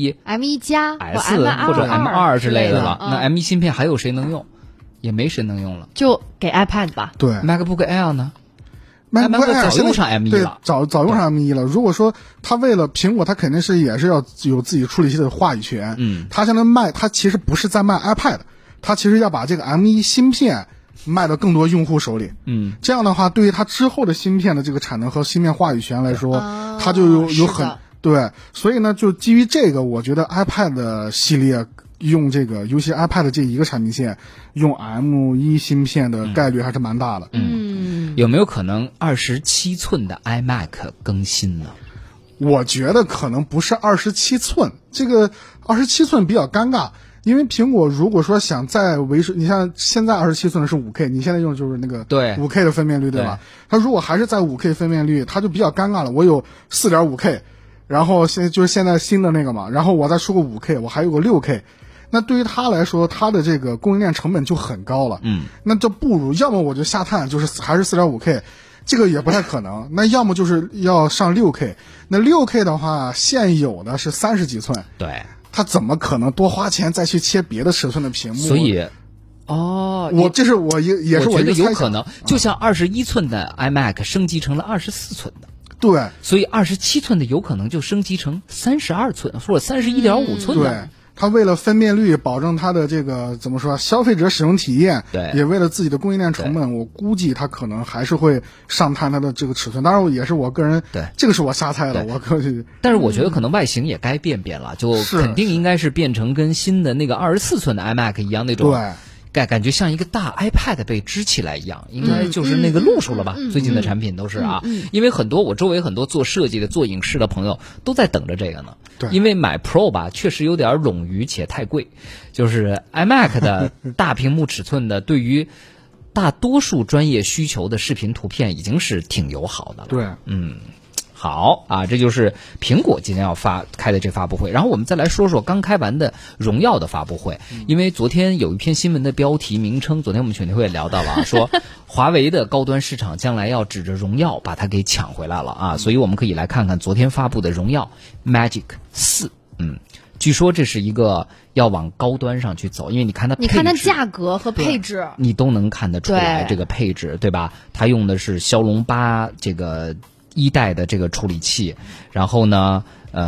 M1 加 S 或者 M2 之类的了。那 M1 芯片还有谁能用？也没谁能用了， 就给 iPad 吧。 对 ，MacBook Air 呢 ？MacBook Air 早用上 M1 了， 早用上 M1 了。如果说它为了苹果，它肯定是也是要有自己处理器的话语权。它现在它其实不是在卖 iPad， 它其实要把这个 M1 芯片卖到更多用户手里。这样的话，对于它之后的芯片的这个产能和芯片话语权来说，它就有很对。所以呢，就基于这个，我觉得 iPad 系列用这个，尤其 iPad 这一个产品线用 M1 芯片的概率还是蛮大的。 有没有可能27寸的 iMac 更新呢？ 我觉得可能不是27寸，这个27寸比较尴尬。因为苹果如果说想再维持，你像现在27寸的是 5K， 你现在用的就是那个 5K 的分辨率，对吧？它如果还是在 5K 分辨率，它就比较尴尬了。我有 4.5K， 然后现在新的那个嘛，然后我再出个 5K， 我还有个 6K， 那对于它来说，它的这个供应链成本就很高了。那就不如要么我就下探，就是还是 4.5K， 这个也不太可能。那要么就是要上 6K， 那 6K 的话，现有的是30几寸， 对。 他怎么可能多花钱再去切别的尺寸的屏幕？ 所以， 这是我也是我觉得有可能，就像21寸的 iMac 升级成了24寸的， 对， 所以27寸的有可能就升级成32寸或者31.5寸的。 对，他为了分辨率，保证他的这个怎么说，消费者使用体验， 对， 也为了自己的供应链成本，我估计他可能还是会上探他的这个尺寸。当然，也是我个人， 对， 这个是我瞎猜的， 但是我觉得可能外形也该变了，就肯定应该是变成跟新的那个24寸的 iMac 一样那种。 对。 感觉像一个大 iPad 被支起来一样，应该就是那个路数了吧？最近的产品都是啊，因为我周围很多做设计的、做影视的朋友都在等着这个呢。 对， 因为买 Pro 吧，确实有点冗余且太贵。就是 iMac 的大屏幕尺寸的，对于大多数专业需求的视频图片已经是挺友好的了。 对， 好啊，这就是苹果今天要开的这发布会。然后我们再来说说刚开完的荣耀的发布会，因为昨天有一篇新闻的标题名称，昨天我们全天会也聊到了啊，说华为的高端市场将来要指着荣耀把它给抢回来了啊，所以我们可以来看看昨天发布的荣耀 Magic 4。据说这是一个要往高端上去走，因为你看它价格和配置， 你都能看得出来这个配置，对吧？它用的是骁龙8这个1代的这个处理器，然后呢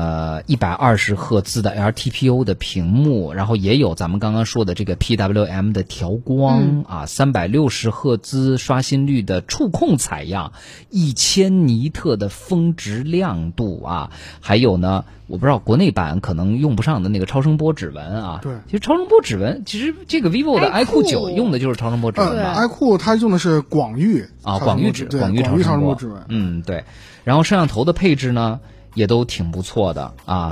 120赫兹的 LTPO 的屏幕，然后也有咱们刚刚说的这个 PWM 的调光360赫兹刷新率的触控采样，1000尼特的峰值亮度啊，还有呢我不知道国内版可能用不上的那个超声波指纹啊。 对， 其实超声波指纹，其实这个 vivo 的 iQOO 9用的就是超声波指纹吧 iQOO 它用的是广域啊，广域超声波指纹。 对。然后摄像头的配置呢也都挺不错的啊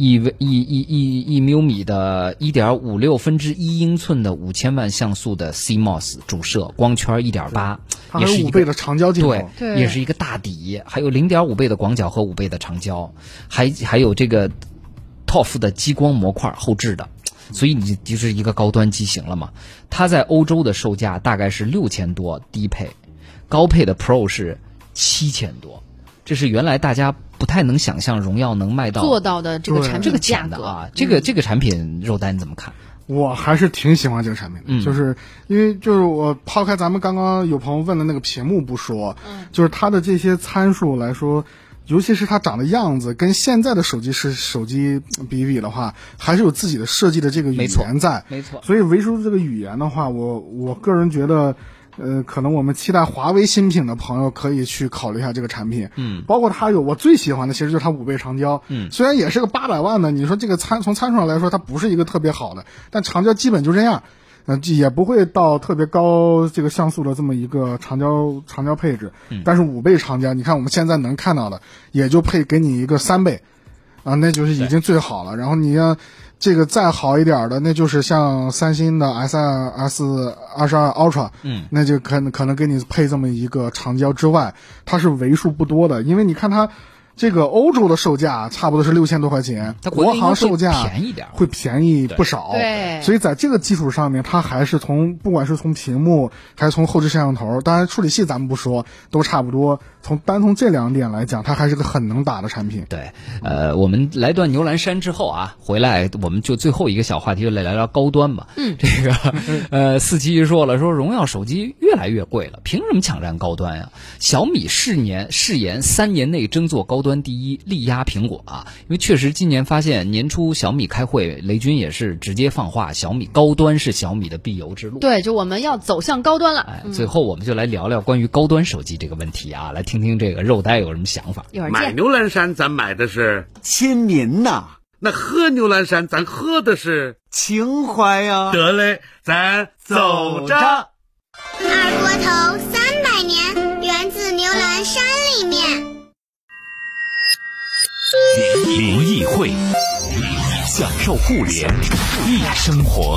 ，1 毫米的1.56分之1英寸的5000万像素的 CMOS 主摄，光圈1.8，也是 5倍的长焦镜头， 对，也是一个大底，还有0.5倍的广角和5倍的长焦，还有这个 TOF 的激光模块后置的。所以你就是一个高端机型了嘛。它在欧洲的售价大概是6000多低配， 高配的 Pro 是7000多，这是原来大家不太能想象荣耀能卖到做到的这个产品价格啊。这个产品肉丹你怎么看？ 我还是挺喜欢这个产品的，就是因为就是我抛开咱们刚刚有朋友问的那个屏幕不说，就是它的这些参数来说，尤其是它长的样子跟现在的手机比比的话，还是有自己的设计的这个语言在， 没错。 所以唯独这个语言的话，我个人觉得。可能我们期待华为新品的朋友可以去考虑一下这个产品，包括它有我最喜欢的，其实就是它5倍长焦，虽然也是个800万的，你说这个从参数上来说，它不是一个特别好的，但长焦基本就这样，也不会到特别高这个像素的这么一个长焦配置，但是5倍长焦，你看我们现在能看到的，也就给你一个3倍，啊，那就是已经最好了。然后你要这个再好一点的，那就是像三星的 S22 Ultra，那就可能给你配这么一个长焦之外，它是为数不多的，因为你看它这个欧洲的售价差不多是6000多块钱，国行售价会便宜不少， 对， 所以在这个基础上面，它还是不管是从屏幕还是从后置摄像头，当然处理器咱们不说，都差不多。单从这2点来讲，它还是个很能打的产品。 对，我们来段牛栏山之后啊，回来我们就最后一个小话题就来聊聊高端吧。这个47说了，说荣耀手机越来越贵了，凭什么抢占高端呀？小米誓言3年内争做高端第一，力压苹果啊！因为确实今年发现年初小米开会，雷军也是直接放话，小米高端是小米的必由之路。 对，就我们要走向高端了。 最后我们就来聊聊关于高端手机这个问题啊，来听听这个肉呆有什么想法。 买牛栏山咱买的是亲民呐，那喝牛栏山咱喝的是情怀呀。得嘞，咱走着。 二锅头300年，源自牛栏山里面。 联谊会，享受互联易生活。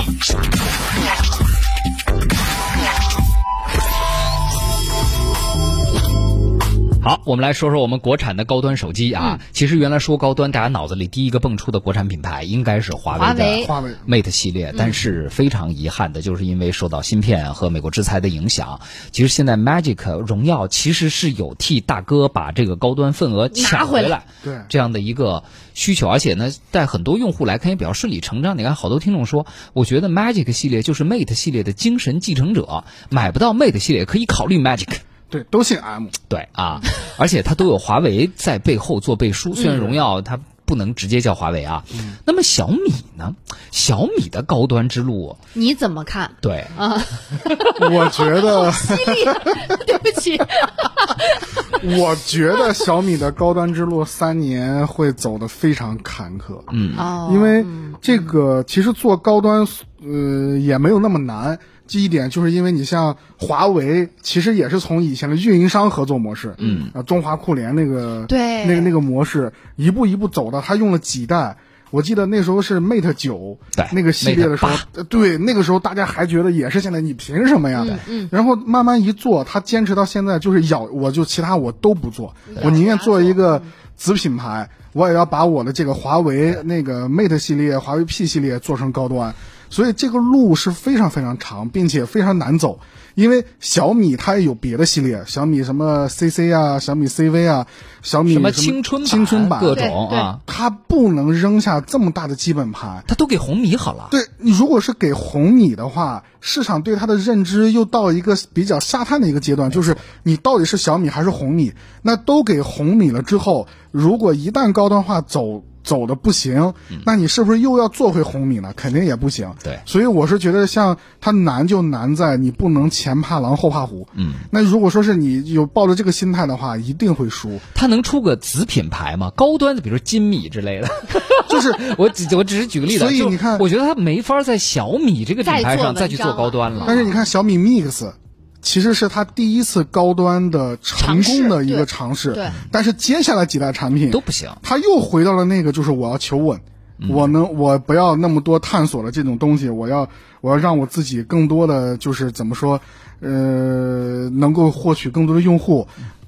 好，我们来说说我们国产的高端手机啊。其实原来说高端，大家脑子里第一个蹦出的国产品牌应该是华为的华为 Mate 系列，但是非常遗憾的就是因为受到芯片和美国制裁的影响，其实现在 Magic 荣耀其实是有替大哥把这个高端份额抢回来， 对这样的一个需求，而且呢，在很多用户来看也比较顺理成章。你看，好多听众说，我觉得 Magic 系列就是 Mate 系列的精神继承者，买不到 Mate 系列可以考虑 Magic。 对，都姓 M。 对啊，而且它都有华为在背后做背书。虽然荣耀它不能直接叫华为啊，那么小米呢？小米的高端之路你怎么看？ 对啊， 我觉得犀利，对不起， 我觉得小米的高端之路3年会走得非常坎坷。因为这个其实做高端也没有那么难。第一点就是因为你像华为，其实也是从以前的运营商合作模式，中华酷联那个对那个模式，一步一步走的，它用了几代。我记得那时候是 Mate 9那个系列的时候，对，那个时候大家还觉得也是现在你凭什么呀？然后慢慢一做，他坚持到现在，就是我就其他我都不做，我宁愿做一个子品牌，我也要把我的这个华为那个 Mate 系列、华为 P 系列做成高端。所以这个路是非常非常长，并且非常难走，因为小米它也有别的系列，小米什么 CC 啊，小米 CV 啊，小米什么青春版各种啊， 它不能扔下这么大的基本盘， 它都给红米好了。 对，你如果是给红米的话，市场对它的认知又到一个比较下探的一个阶段，就是你到底是小米还是红米？那都给红米了之后，如果一旦高端化走的不行，那你是不是又要做回红米呢？肯定也不行。 对， 所以我是觉得像它难就难在你不能前怕狼后怕虎。那如果说是你有抱着这个心态的话，一定会输。 它能出个子品牌吗？高端的，比如说金米之类的， 就是我只是举个例子。 所以你看， 我觉得它没法在小米这个品牌上再去做高端了。 但是你看小米 Mix。其实是他第一次高端的成功的一个尝试， 对， 但是接下来几代产品都不行， 他又回到了那个就是我要求稳，我不要那么多探索的这种东西，我要让我自己更多的就是怎么说，能够获取更多的用户。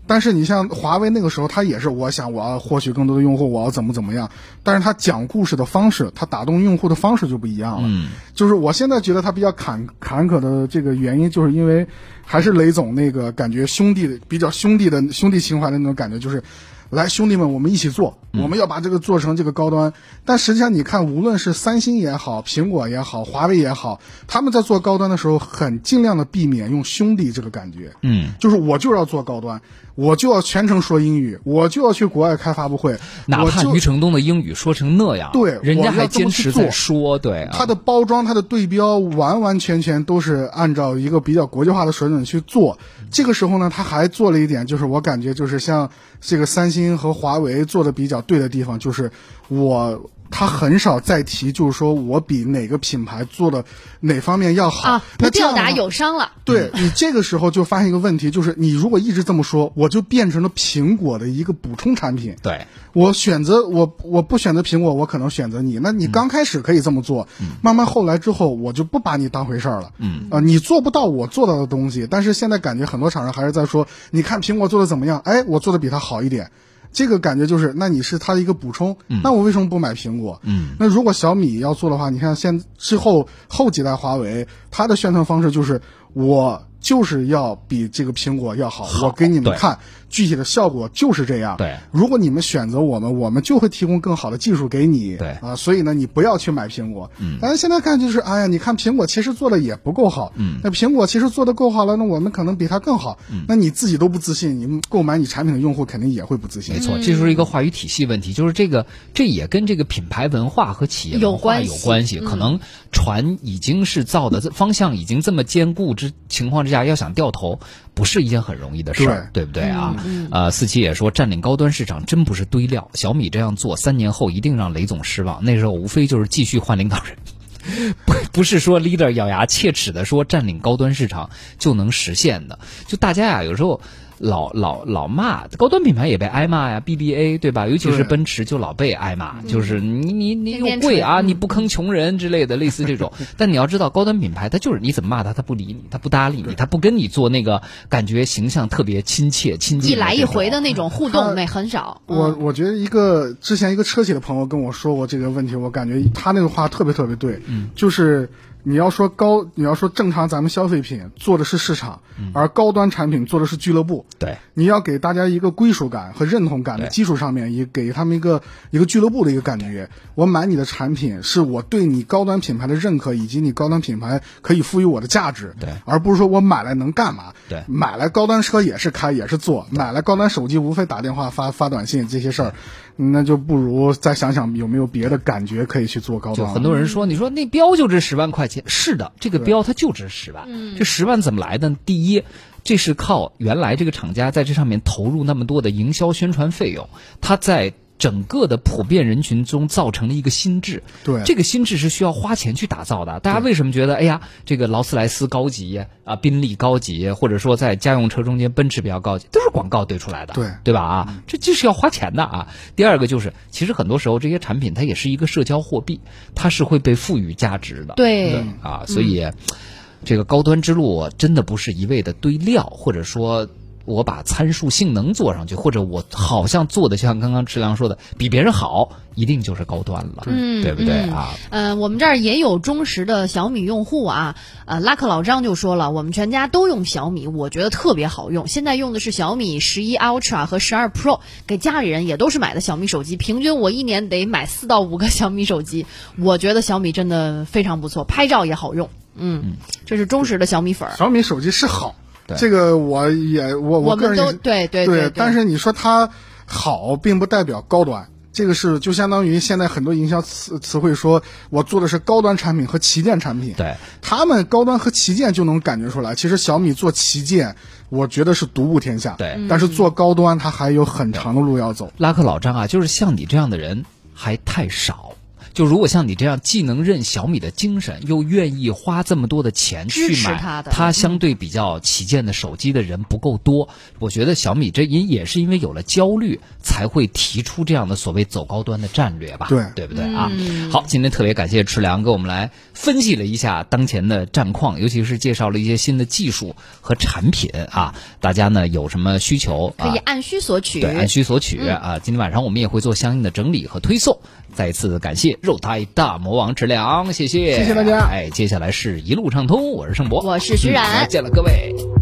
但是你像华为那个时候，它也是我想我要获取更多的用户，我要怎么样，但是它讲故事的方式，它打动用户的方式就不一样了。就是我现在觉得它比较坎坷的这个原因，就是因为还是雷总那个感觉比较兄弟情怀的那种感觉，就是来兄弟们我们一起做，我们要把这个做成这个高端。但实际上你看，无论是三星也好，苹果也好，华为也好，他们在做高端的时候很尽量的避免用兄弟这个感觉。就是我就要做高端，我就要全程说英语，我就要去国外开发布会， 哪怕余承东的英语说成那样， 对， 人家还坚持在说，对， 他的包装，他的对标完完全全都是按照一个比较国际化的水准去做。这个时候呢，他还做了一点，就是我感觉就是像这个三星和华为做的比较对的地方，就是他很少再提，就是说我比哪个品牌做的哪方面要好， 不吊打友商了。 对，你这个时候就发现一个问题，就是你如果一直这么说，我就变成了苹果的一个补充产品。 对， 我不选择苹果，我可能选择你。那你刚开始可以这么做，慢慢后来之后，我就不把你当回事儿了。你做不到我做到的东西，但是现在感觉很多厂商还是在说，你看苹果做的怎么样？哎，我做的比它好一点。这个感觉就是，那你是它的一个补充，那我为什么不买苹果？那如果小米要做的话，你看之后几代华为，它的宣传方式就是我就是要比这个苹果要好，我给你们看具体的效果就是这样。 对， 如果你们选择我们就会提供更好的技术给你。 对啊，所以呢，你不要去买苹果。但是现在看就是，哎呀，你看苹果其实做的也不够好。那苹果其实做的够好了，那我们可能比它更好。那你自己都不自信，你购买你产品的用户肯定也会不自信。 没错，这就是一个话语体系问题，就是这也跟这个品牌文化和企业文化有关系。可能船已经是造的方向已经这么坚固情况之下，要想掉头不是一件很容易的事儿，对不对啊？四七也说占领高端市场真不是堆料，小米这样做3年后一定让雷总失望，那时候无非就是继续换领导人。不是说 leader 咬牙切齿的说占领高端市场就能实现的，就大家呀有时候老骂高端品牌也被挨骂呀 ，BBA 对吧？尤其是奔驰就老被挨骂，就是你又贵啊，你不坑穷人之类的，类似这种。但你要知道，高端品牌它就是你怎么骂它，它不理你，它不搭理你，它不跟你做那个感觉形象特别亲切亲近， 一来一回的那种互动那很少。 我觉得之前一个车企的朋友跟我说过这个问题，我感觉他那个话特别特别对，就是你要说正常咱们消费品做的是市场，而高端产品做的是俱乐部。 对， 你要给大家一个归属感和认同感的基础上面，也给他们一个俱乐部的一个感觉。我买你的产品是我对你高端品牌的认可，以及你高端品牌可以赋予我的价值。 对， 而不是说我买来能干嘛？ 对， 买来高端车也是开也是坐，买来高端手机无非打电话发短信这些事儿。那就不如再想想有没有别的感觉可以去做高端。 就很多人说，你说那标就值10万块钱，是的，这个标它就值10万。这10万怎么来的？第一，这是靠原来这个厂家在这上面投入那么多的营销宣传费用，它在整个的普遍人群中造成了一个心智。 对， 这个心智是需要花钱去打造的。大家为什么觉得哎呀，这个劳斯莱斯高级啊，宾利高级，或者说在家用车中间奔驰比较高级，都是广告堆出来的，对吧啊？这就是要花钱的啊。第二个就是，其实很多时候这些产品它也是一个社交货币，它是会被赋予价值的。 对啊，所以这个高端之路真的不是一味的堆料，或者说我把参数性能做上去，或者我好像做的像刚刚池良说的比别人好，一定就是高端了，对不对啊？ 我们这儿也有忠实的小米用户啊，拉克老张就说了，我们全家都用小米，我觉得特别好用，现在用的是小米11 Ultra 和12 Pro， 给家里人也都是买的小米手机，平均我一年得买4到5个小米手机，我觉得小米真的非常不错，拍照也好用，这是忠实的小米粉。 小米手机是好。这个我个人都对， 但是你说它好，并不代表高端。这个是就相当于现在很多营销词汇说我做的是高端产品和旗舰产品， 对， 他们高端和旗舰就能感觉出来。其实小米做旗舰，我觉得是独步天下， 对， 但是做高端它还有很长的路要走。 拉克老张啊，就是像你这样的人还太少。 就如果像你这样既能认小米的精神，又愿意花这么多的钱去买它相对比较旗舰的手机的人不够多。我觉得小米这也是因为有了焦虑，才会提出这样的所谓走高端的战略吧？对不对啊？好，今天特别感谢池良给我们来分析了一下当前的战况，尤其是介绍了一些新的技术和产品啊。大家呢有什么需求可以按需索取， 对，按需索取啊。今天晚上我们也会做相应的整理和推送。再次感谢肉胎大魔王池良，谢谢大家。 接下来是一路畅通，我是盛博， 我是徐冉， 再见了各位。